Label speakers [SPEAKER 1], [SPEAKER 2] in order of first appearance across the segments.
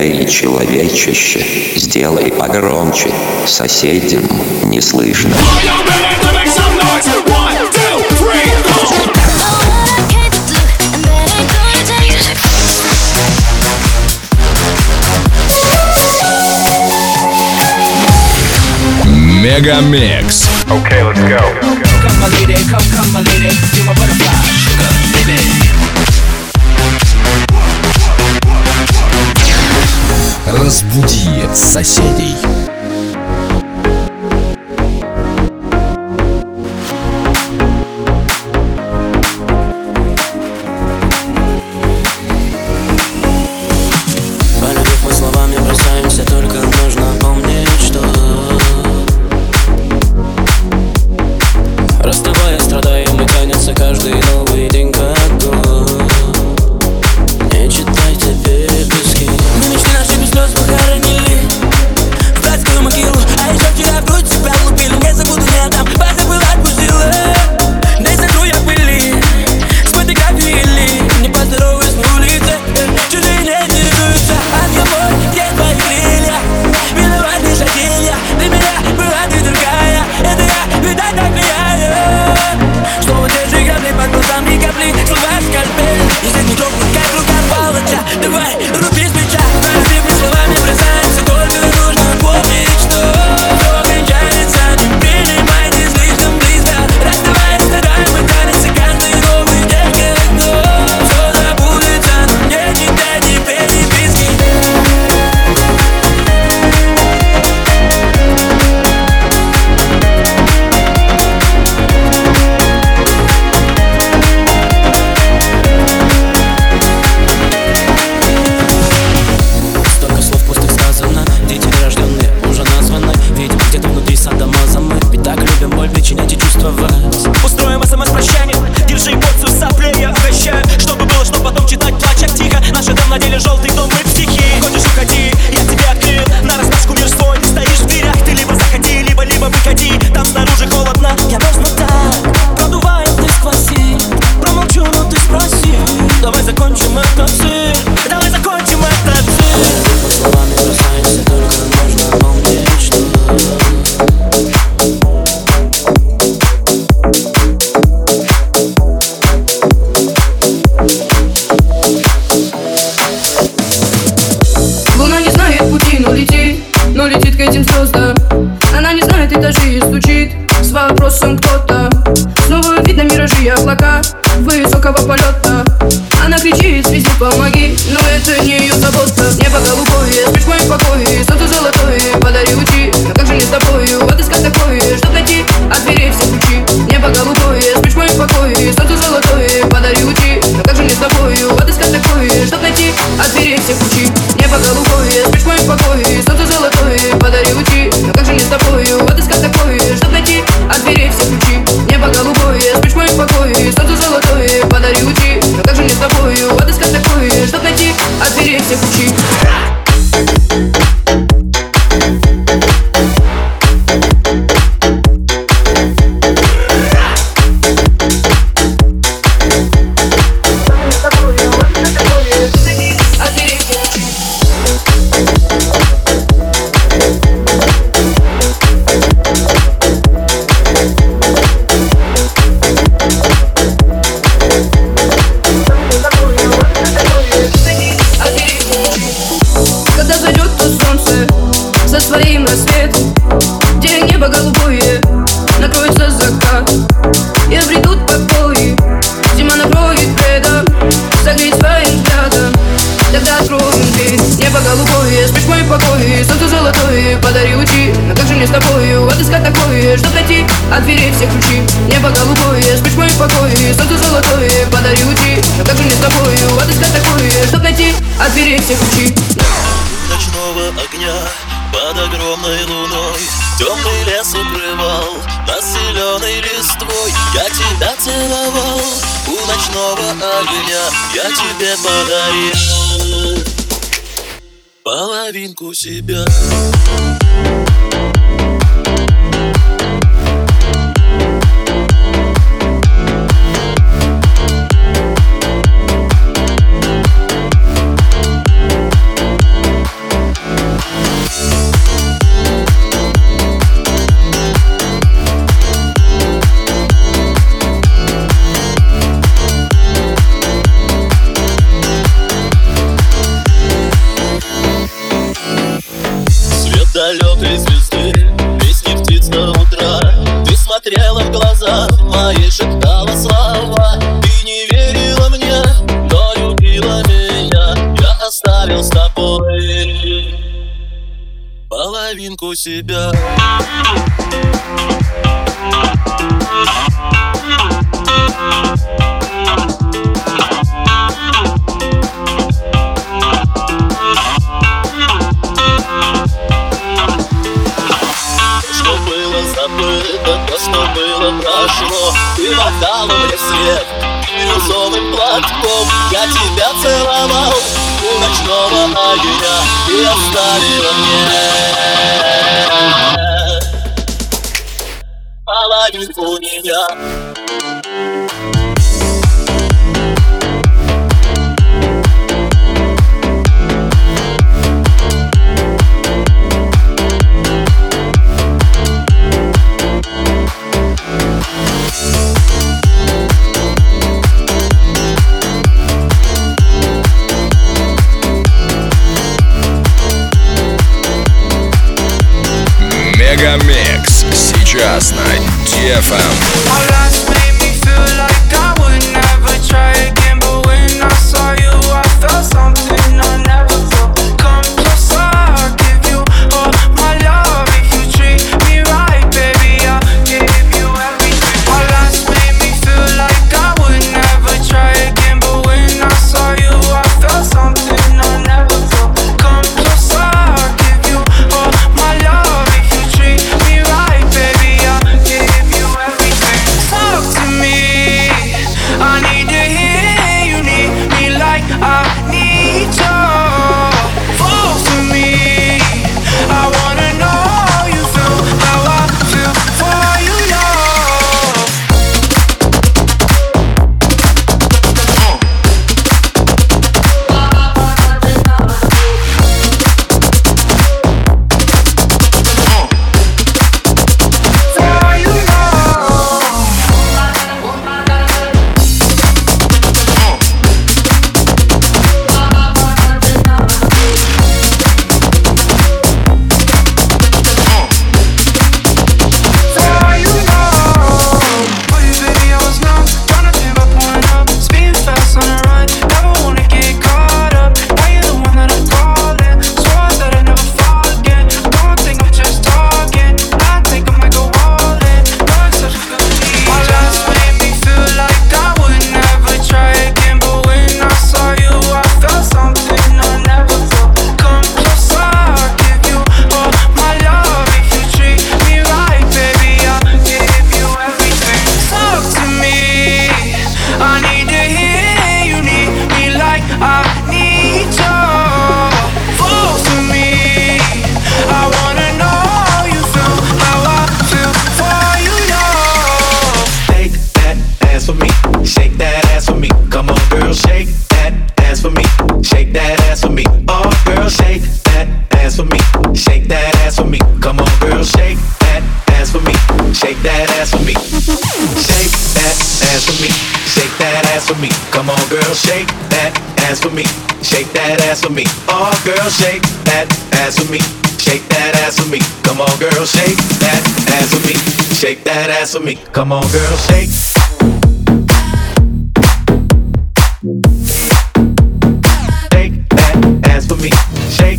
[SPEAKER 1] Эй, человечище, сделай погромче, соседям не слышно.
[SPEAKER 2] Мегамикс.
[SPEAKER 3] Okay, let's go.
[SPEAKER 4] Come my lady, come my lady, you're my butterfly, sugar, baby.
[SPEAKER 2] Разбуди соседей.
[SPEAKER 5] Полюбив мы словами бросаемся, только нужно помнить, что расставаясь, страдаем и тянется каждый новый день как год. Не читайте переписки. Мы мечты наши без слез похоронили в братскую могилу. А еще вчера в грудь себя лупили. Не забуду, не отдам, позабыл, отпустила. Дай сотру я пыли с фотографией ли. Не поздороваюсь на улице, чужие не интересуются. Отговор, где твои крылья? Виноват лишь один я. Для меня была ты другая. Это я, видать, так влияю. Что вот те же грабли под глазами капли. Слова скальпель, если не трогнут, как рука палача. Давай, руби с плеча. Разбитыми словами бросаемся, только нужно помнить, что все кончается. Не принимайте слишком близко. Расставаясь, страдаем и тянется каждый новый день как год. Все забудется, но не читайте переписки. Столько слов пустых сказано, дети нерожденные уже названы. Видимо, где-то внутри садомаза мы ведь так любим боль причинять и чувствовать.
[SPEAKER 6] Устроим СМС-прощание, держи порцию соплей, я угощаю. Чтобы было, что потом читать, плача тихо. Наши дом на деле желтый дом, мы психи. Хочешь, уходи, я тебе открыл на распашку мир свой. Стоишь в дверях, ты либо заходи, либо выходи. Там снаружи холодно,
[SPEAKER 5] Я мерзну так, продувает насквозь. Промолчу, но ты спроси. Давай закончим этот цирк.
[SPEAKER 6] давай закончим этот цирк.
[SPEAKER 5] Мы словами бросаемся, только нужно помнить, что
[SPEAKER 7] Луна не знает пути, но летит к этим звездам. Она не знает этажи и стучит с вопросом кто-то. Снова видно миражи и облака высокого полета. Она кричит, связи, помоги, но это не ее забота. Небо голубое, спишь в моем покое, солнце золотое, подари лучи. Но как же не с тобою отыскать такое, чтоб найти от дверей все ключи. Небо голубое, спишь в моем покое, солнце золотое, подари лучи. Но как же не с тобою отыскать такое, чтоб найти от дверей все ключи. Небо голубое, спишь в моем покое, солнце золотое, подари лучи. Но как же не с тобою отыскать такое, чтоб найти от дверей все ключи. Небо голубое, спишь в моем покое, солнце золотое, подари лучи. Но как же не с тобою отыскать такое, чтоб найти от дверей все ключи. Когда зайдет то солнце за своим рассветом, где небо голубое, накроется закат и обретут покой. Зима накроет бредом, согреть своим взглядом. Тогда откроем дверь. Небо голубое, спишь в моем покое, солнце золотое, подари лучи. Но как же мне с тобою отыскать такое, чтоб найти от дверей все ключи. Небо голубое, спишь в моем покое, солнце золотое, подари лучи. Но как же мне с тобою отыскать такое, чтоб найти от дверей все ключи.
[SPEAKER 8] Ночного огня под огромной луной темный лес укрывал нас зеленой листвой. Я тебя целовал у ночного огня, я тебе подарил половинку себя. глаза мои шептала слова. Ты не верила мне, но любила меня. Я оставил с тобой половинку себя. Что было забыто, то, что было прошло. Ты отдала мне свет бирюзовым платком. Я тебя целовал у ночного огня. Ты оставила мне половинку меня.
[SPEAKER 2] Мегамикс сейчас на DFM.
[SPEAKER 3] Come on, girl, shake that ass for me. Shake that ass for me. Oh, girl, shake that ass for me. Shake that ass for me. Come on, girl, shake that ass for me. Shake that ass for me. Come on, girl, shake. Shake that ass for me. Shake.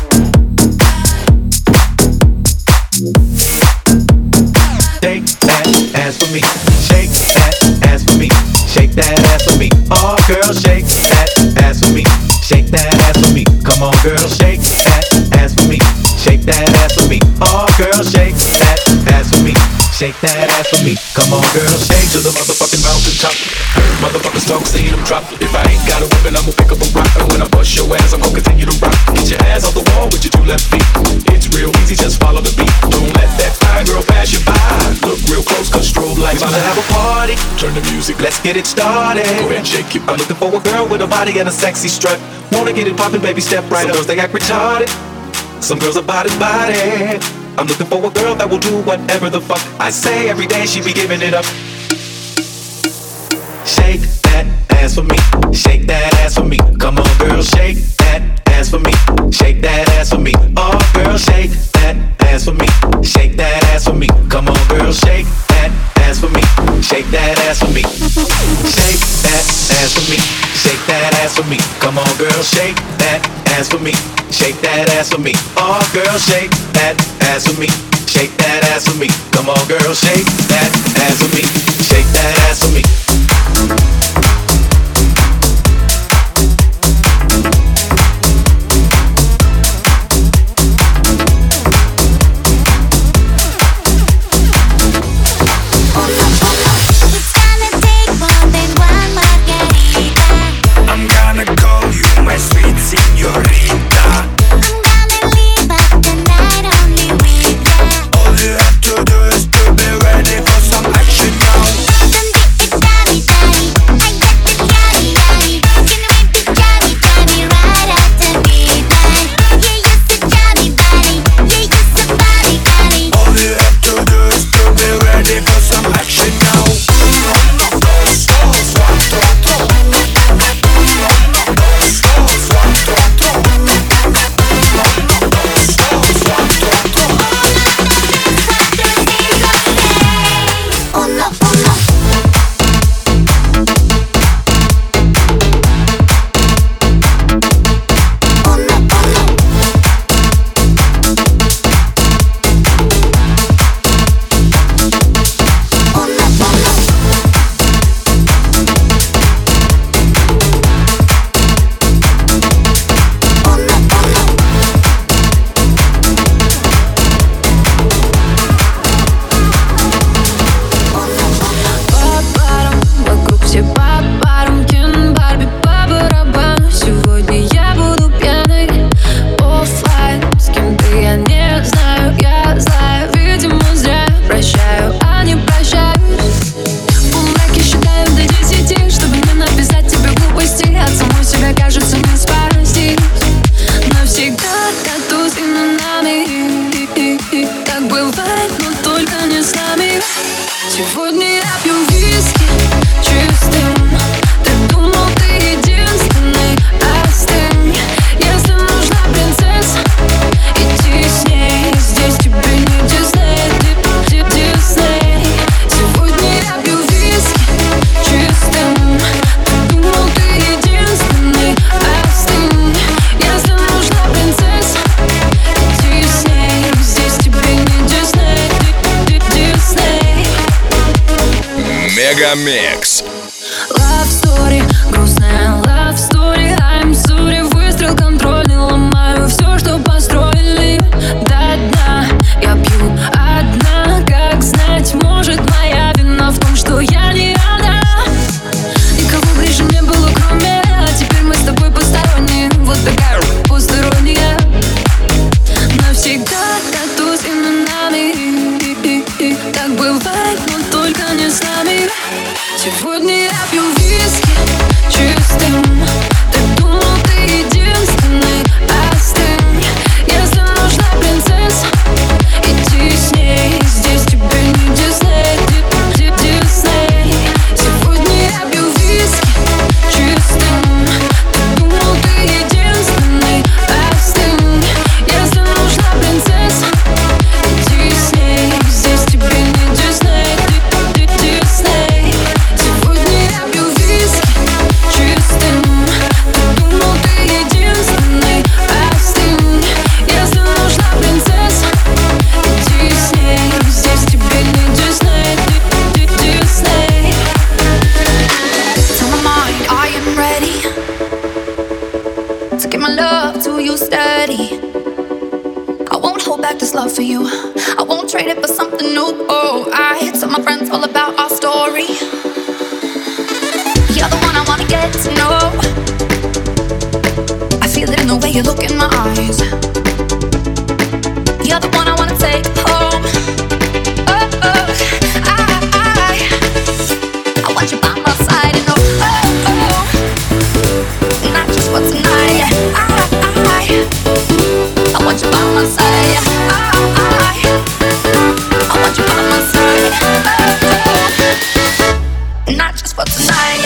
[SPEAKER 3] Shake that ass for me. Shake that ass for me. Shake that ass for me. Oh, girl, shake that ass for me. Shake that ass for me. Come on, girl, shake that ass for me. Shake that ass for me. Oh, girl, shake that ass for me. Shake that ass for me. Come on, girl, shake to the motherfucking mountain top. Heard motherfuckers talk, see them drop. If I ain't got a weapon, I'ma pick up a rock. And when I bust your ass, I'm gonna continue to rock. Get your ass off the wall with your two left feet. It's real easy, just follow the beat. Don't let that fine girl pass you by. Look real close, cause strobe lights. About to have a party, turn the music, let's get it started. Go ahead and shake it. I'm looking for a girl with a body and a sexy strut. Wanna get it poppin', baby, step right up. Some girls, they act retarded. Some girls are body. I'm looking for a girl that will do whatever the fuck I say. Every day she be giving it up. Shake that ass for me. Shake that ass for me. Come on, girl, shake that ass for me. Shake that ass for me. Oh, girl, shake that ass ass for me, shake that ass for me. Come on, girl, shake that ass for me, shake that ass for me, shake that ass for me, shake that ass for me. Come on, girl, shake that ass for me, shake that ass for me. Oh, girl, shake that ass for me, shake that ass for me. Come on, girl, shake that ass for me, shake that ass for me.
[SPEAKER 2] Мегамикс.
[SPEAKER 5] Love story, грустная love story. I'm sorry, выстрел контрольный. Ломаю все, что построили до дна. Я пью одна, как знать, может моя вина в том, что я не одна. Никого ближе не было, кроме. А теперь мы с тобой посторонние. Вот такая посторонняя. Навсегда тату с именами. Так бывает, но только не с нами. Сегодня я пью виски чистым. Ты думал, ты единственный, остынь. Если нужна принцесса, иди с ней. Здесь тебе не Дисней, Дисней. Сегодня я пью виски чистым. Ты думал, ты единственный, остынь. Если нужна принцесса, иди с ней. Здесь тебе не Дисней, Дисней. Сегодня я пью виски чистым. Ты думал, ты единственный, остынь. Если нужна принцесса, иди с ней. Здесь тебе не Дисней, Дисней.
[SPEAKER 7] Tell my mind I am ready to give my love to you steady. I won't hold back this love for you. I won't trade it for something new. Oh, I tell my friends all about our story. You're the one I wanna get to know. I feel it in the way you look in my eyes. You're the one I wanna take home. Oh, oh, I want you by my side, and oh, oh, not just for tonight. I want you by my side. I want you by my side. Not just for tonight.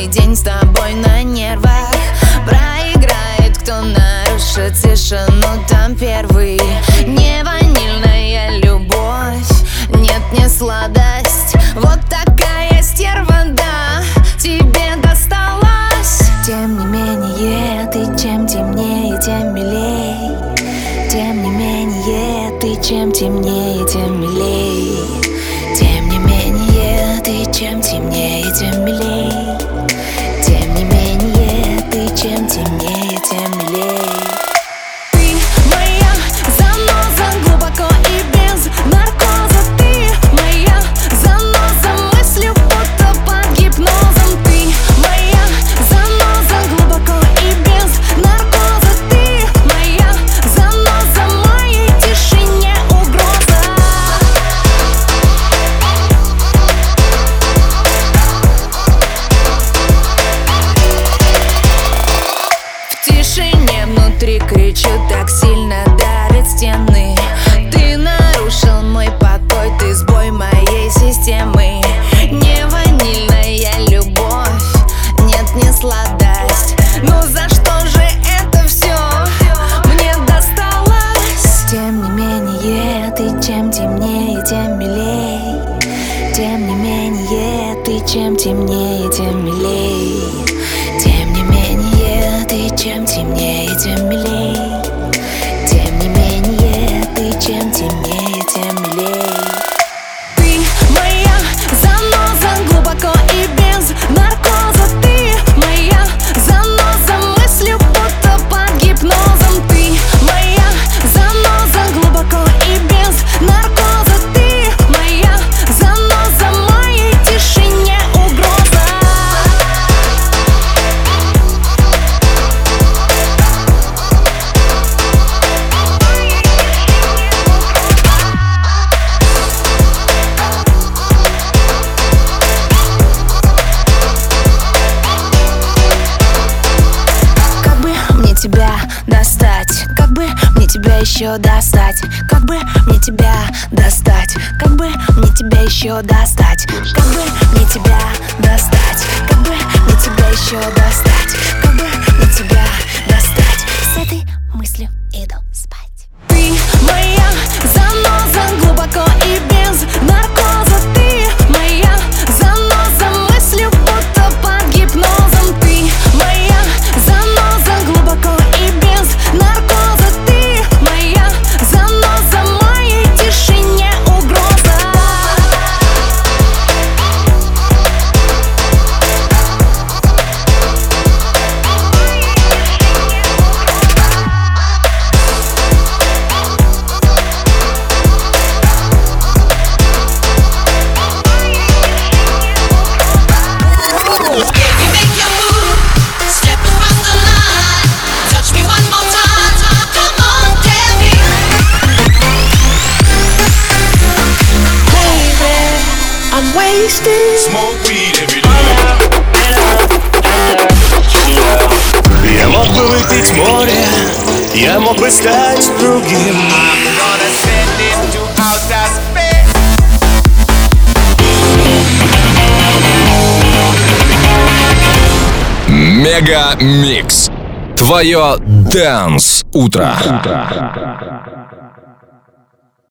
[SPEAKER 9] Целый день с тобой на нервах. Проиграет, кто нарушит тишину там первый. Не ванильная любовь, нет, не сладость. Вот такая стерва, да, тебе досталась. Тем не менее, ты чем темнее, тем милей. Тем не менее, ты чем темнее, тем милей. Тем не менее, ты чем темнее, тем милей. Тем не менее, ты чем темнее, тем милей. Ты моя заноза глубоко и без наркоза. Ты моя заноза мыслью будто под гипнозом. Ты моя заноза глубоко и без наркоза. Ты моя заноза, моей тишине угроза. В тишине внутри кричу, так сильно давят стены. Ты нарушил мой покой, ты сбой моей системы. Не ванильная любовь, нет, не сладость. Ну за что же это все мне досталось? Тем не менее, ты чем темнее, тем милей. Тем не менее, ты чем темнее, тем милей. Тем не менее, ты чем темнее, тем милей. Тем не менее, ты чем темнее, тем милей. Ты моя заноза глубоко и без наркоза. Ты моя заноза мыслью будто под гипнозом. Ты моя заноза глубоко и без наркоза. Ты моя заноза, моей тишине угроза. Как бы мне тебя достать? Как бы мне тебя еще достать? Как бы мне тебя достать? Как бы мне тебя еще достать? Как бы мне тебя достать? Как бы мне тебя еще достать? Как бы мне тебя достать? С этой мыслью иду спать. Ты моя заноза глубоко и без наркоза. Ты моя заноза мыслью будто под гипнозом. Ты моя заноза глубоко и без наркоза. Ты моя заноза, моей тишине угроза.
[SPEAKER 2] Smoke weed every day.
[SPEAKER 10] Я мог бы выпить море, я мог бы стать другим.
[SPEAKER 2] Мега Микс. Твое Dance утро.